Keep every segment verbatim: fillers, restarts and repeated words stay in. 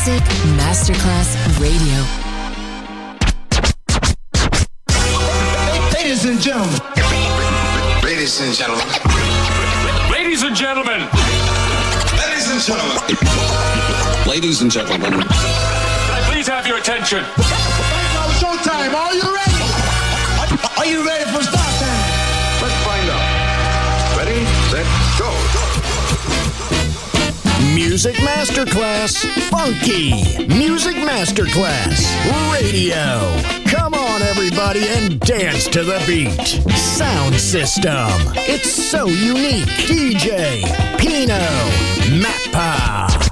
Music Masterclass Radio. Ladies and gentlemen. Ladies and gentlemen. Ladies and gentlemen. Ladies and gentlemen. Ladies and gentlemen. Can I please have your attention? Now showtime. Are you ready? Are you ready for start time? Let's find out. Ready, set, go. Music Masterclass Funky. Music Masterclass Radio. Come on, everybody, and dance to the beat. Sound system. It's so unique. D J Pino Mappa.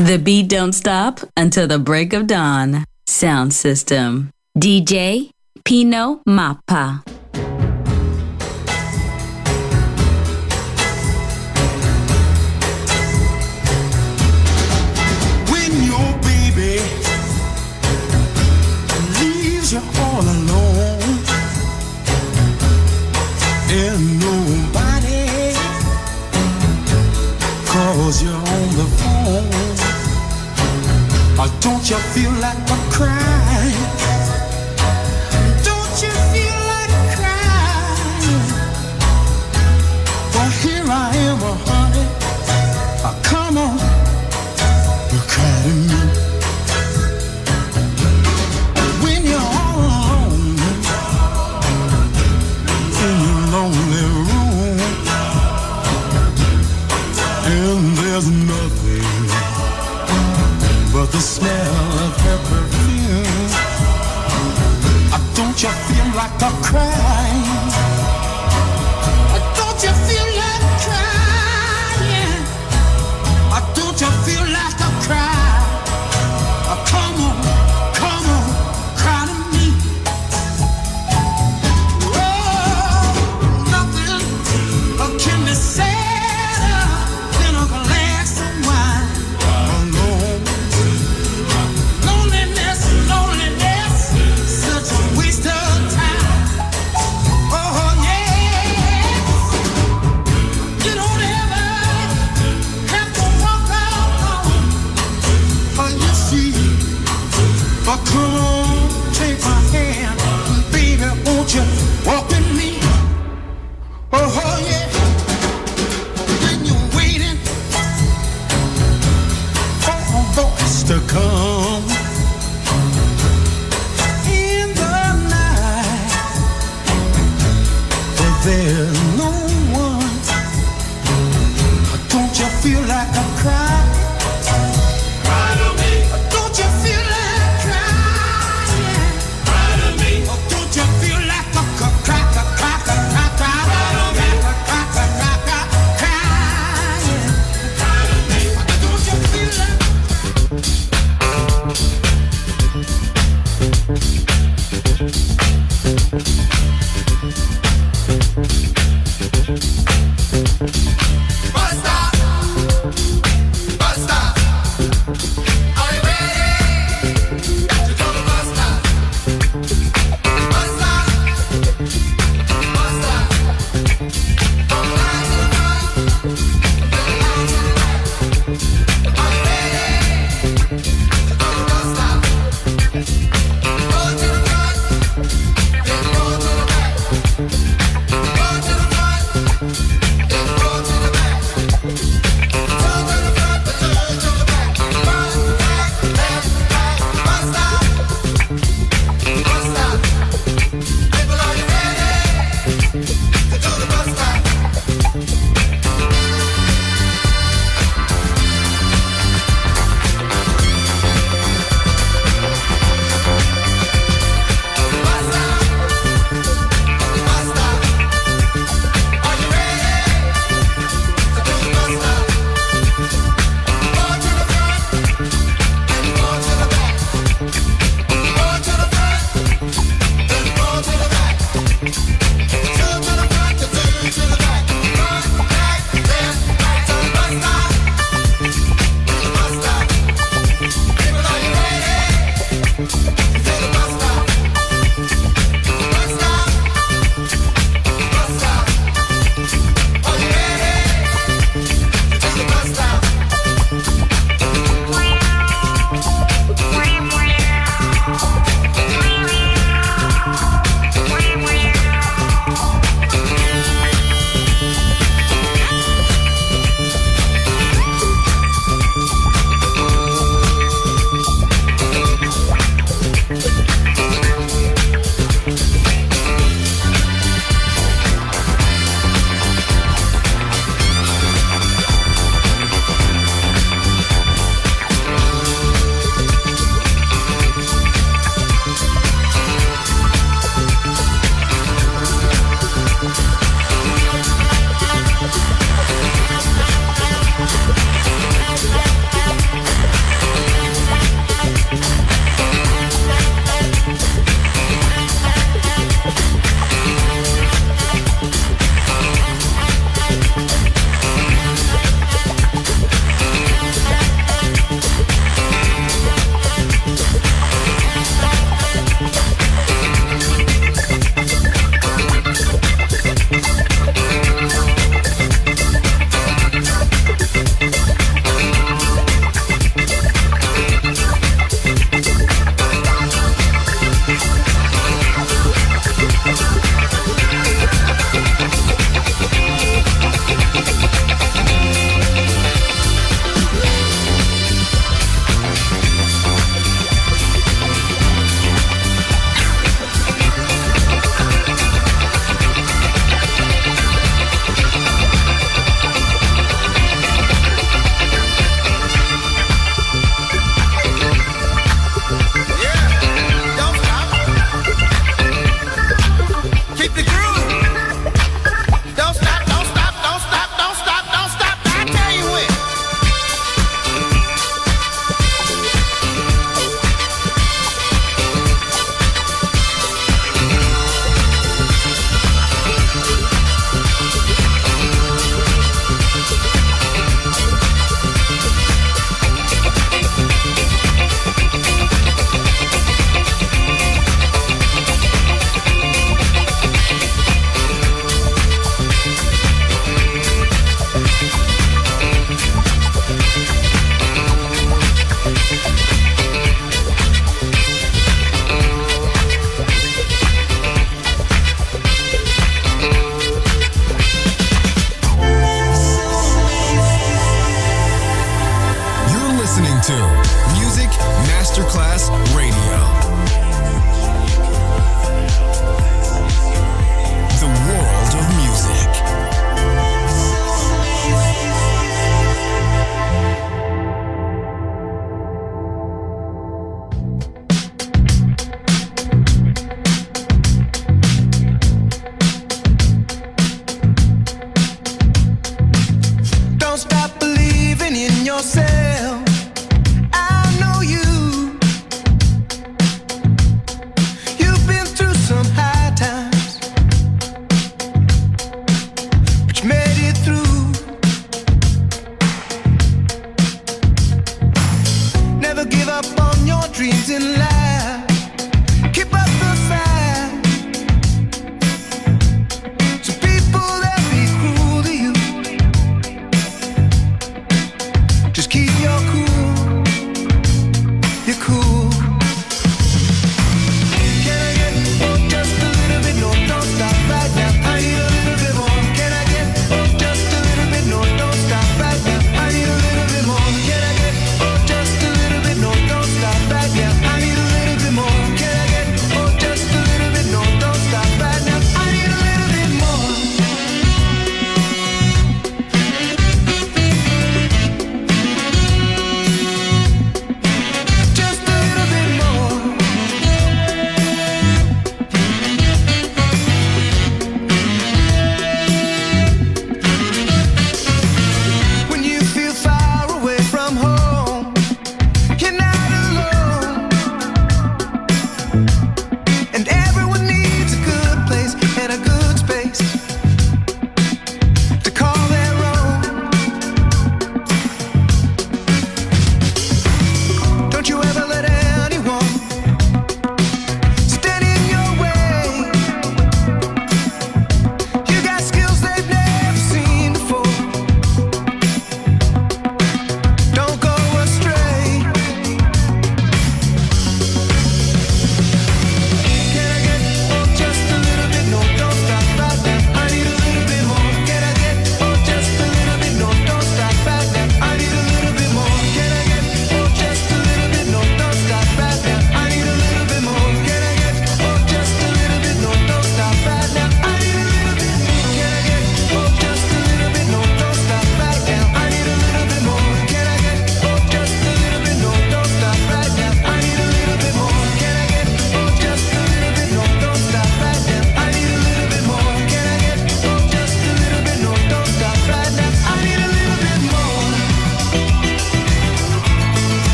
The beat don't stop until the break of dawn. Sound system. D J Pino Mappa. When your baby leaves you all alone and nobody calls you on the phone, or don't you feel like a crying? Don't you feel like crying? Well, here I am, oh, honey. Oh, come on, you cry to me. When you're all alone in your lonely room, and there's nothing but the smell of her perfume. Uh, don't you feel like a crying? Uh, don't you feel like crying? Uh, don't you feel like a cry? Uh, come on, come on, cry to me. Oh, nothing uh, can be sadder than a glass of wine. Alone. Loneliness, loneliness, such a waste of time. Oh yeah, you don't ever have to walk out alone. Oh, you see, but come on, take my hand, baby, won't you walk with me? Oh yeah, when you're waiting for a voice to come in the night, but there's no one. Don't you feel like a cry? Cry to me. Don't you feel like crying? Cry to me. Don't you feel like a cry, cry, cry, cry, cry, cry, cry, cry, cry, cry, cry, crying? Cry to me. Don't you feel like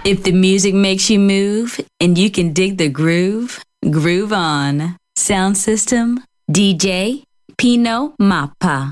If the music makes you move and you can dig the groove, groove on. Sound system, D J Pino Mappa.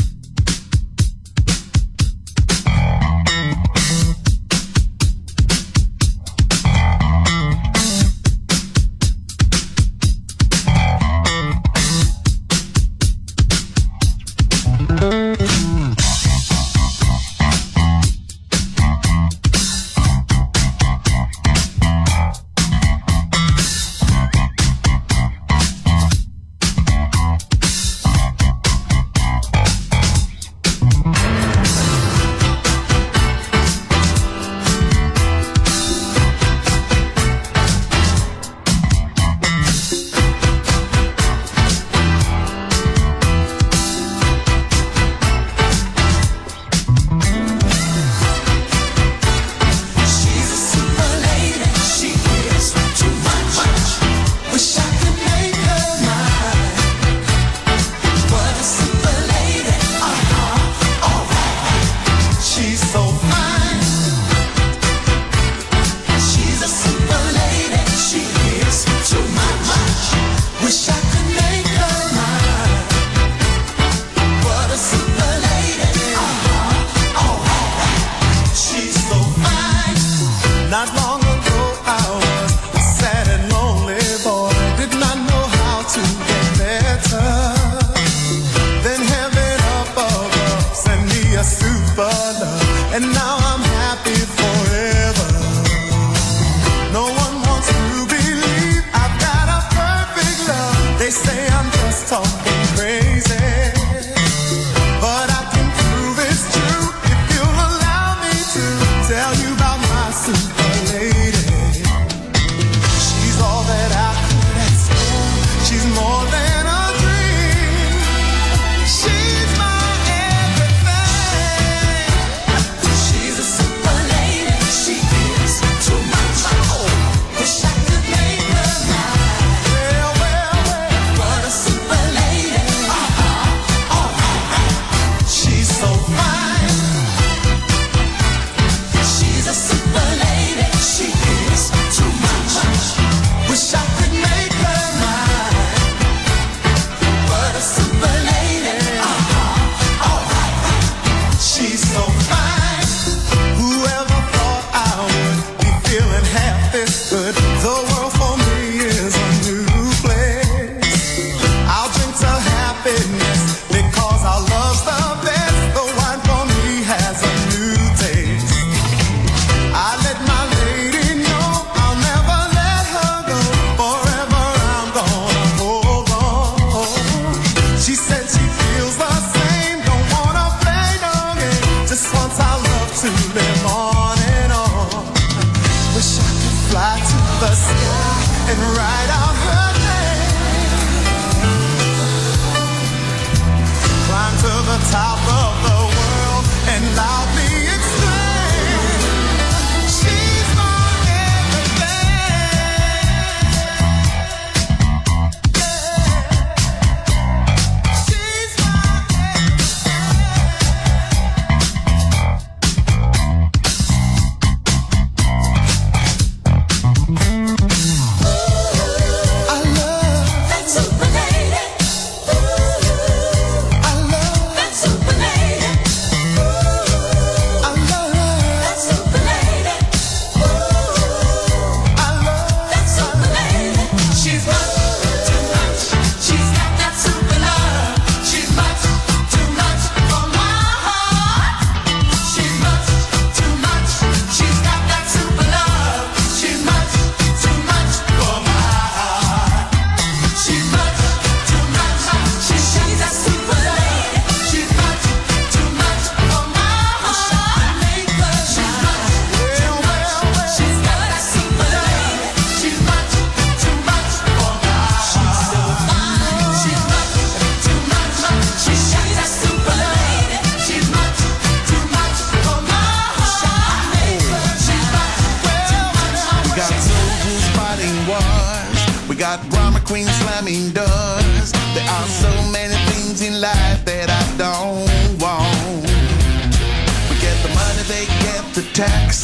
got drama queens slamming doors. There are so many things in life that I don't want. We get the money, they get the tax.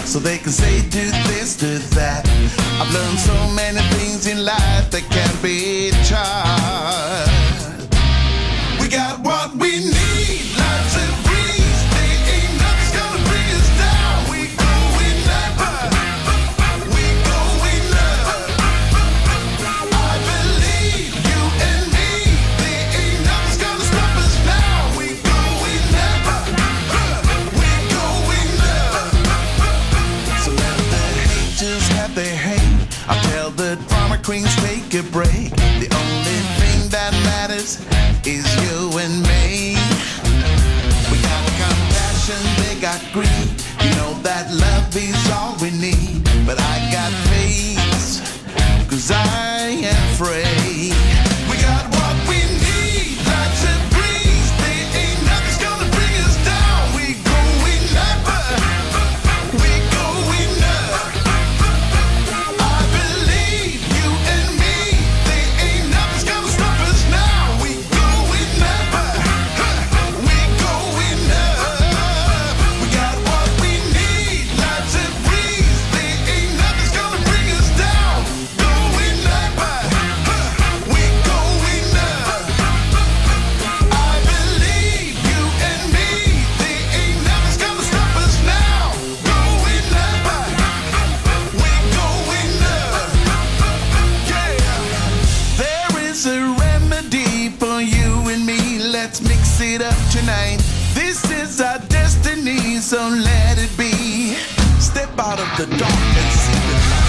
so they can say do this, do that. I've learned so many things in life that can't be taught. We got what we need, lots of breeze. There ain't nothing's gonna bring us down. We going up, we going up. I believe you and me. There ain't nothing's gonna stop us now. We going up, we going up. So let the haters have their hate. I tell the drama queens take a break. The only thing that matters is you and me. We got compassion, they got greed. You know that love is all we need. But I got faith, cause I am free. We got what we need, lots of breeze. There ain't nothing's gonna bring us down. We going up, we going up. I believe you and me. There ain't nothing's gonna stop us now. We going up, we going up. We got what we need, lots of breeze. There ain't nothing's gonna bring us down. Going up, we going up. I believe you and me. There ain't nothing's gonna stop us now. Going up, we going up. Yeah. There is a remedy for you and me. Let's mix it up tonight. This is our destiny, so let it be. Step out of the dark and see the light.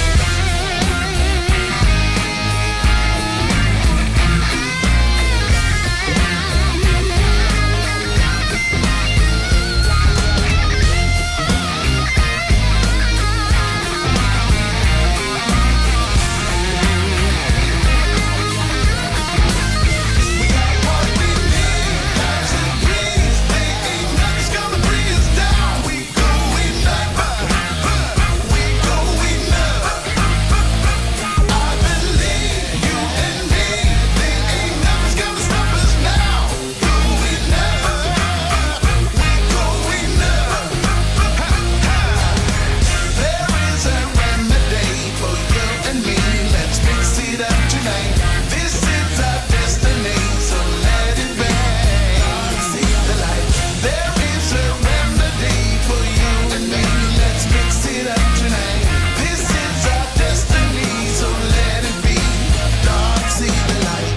We got what we need, lots of breeze. There ain't nothing's gonna bring us down. We going up, we going up. I believe you and me. There ain't nothing's gonna stop us now. Going up, we going up. There is a remedy for you and me. Let's mix it up tonight. This is our destiny, so let it be. See the light. There is a remedy for you and me. Let's mix it up tonight. This is our destiny, so let it be. Dark, see the light.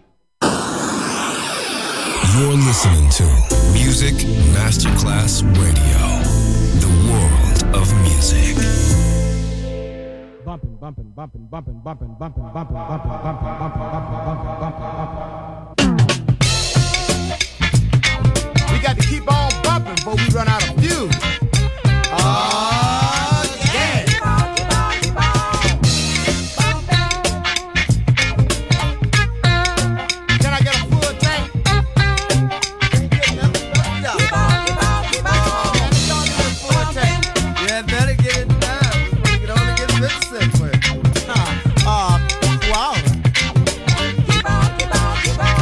You're listening to Music Masterclass Radio, the world of music. Bumping, bumping, bumping, bumping, bumping, bumping, bumping, bumping, bumping, bumping, bumping, bumping, bumping, bumping. We got to keep on bumping before we run out of fuel. Oh, yeah. Can I get a full tank? Yeah, better get it done. We can only get fifty-six with it. Uh, wow. Keep on, keep on, keep on.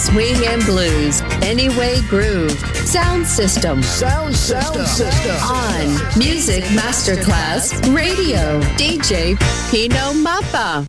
swing and blues, Anyway Groove, Sound System. Sound System. System. On Music Masterclass Radio, D J Pino Mappa.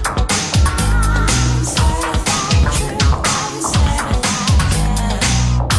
Certified true.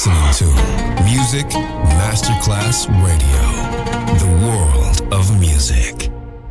listening to Music Masterclass Radio, the world of music.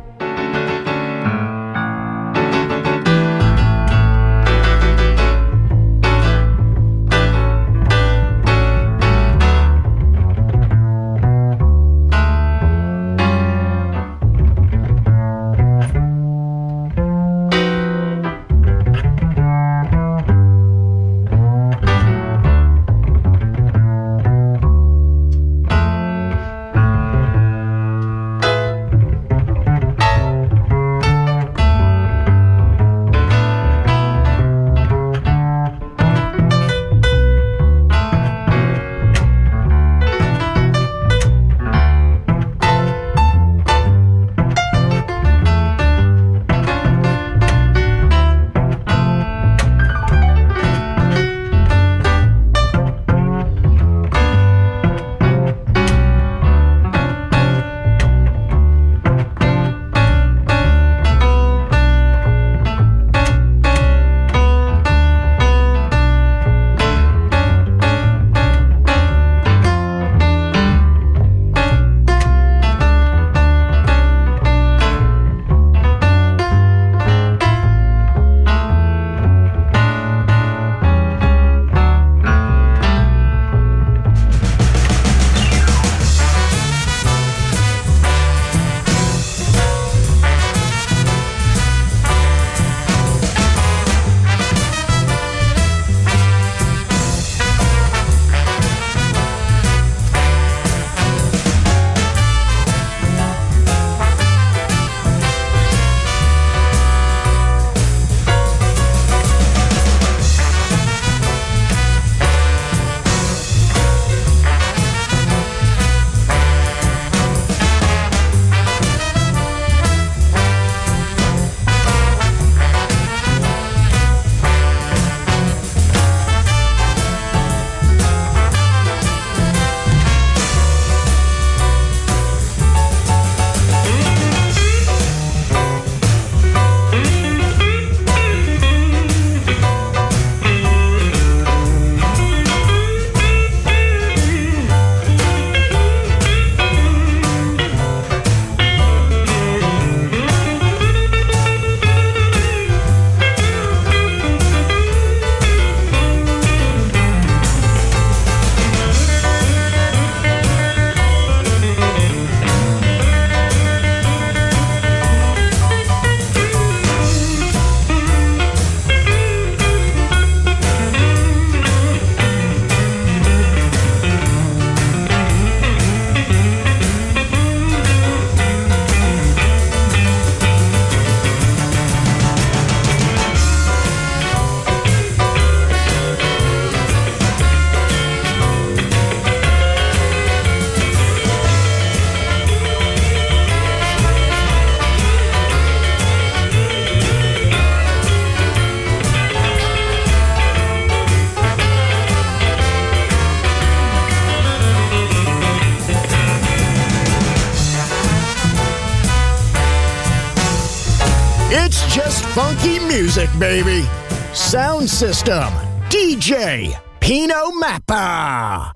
Funky music, baby. Sound system, D J Pino Mappa.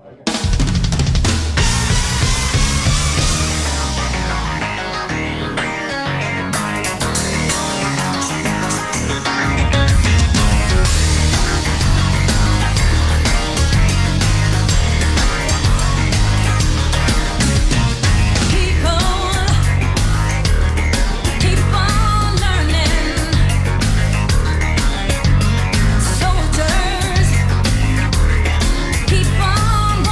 Soldiers, keep on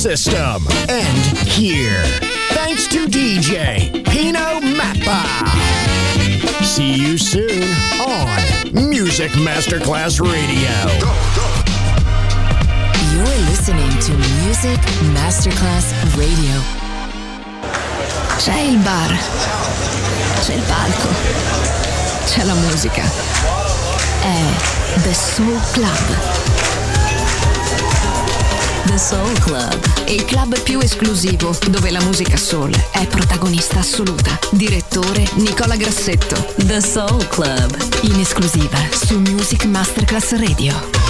system end here. Thanks to D J Pino Mappa. See you soon on Music Masterclass Radio. You're listening to Music Masterclass Radio. C'è il bar, c'è il palco, c'è la musica. È The Soul Club. The Soul Club, il club più esclusivo dove la musica soul è protagonista assoluta. Direttore Nicola Grassetto. The Soul Club, in esclusiva su Music Masterclass Radio.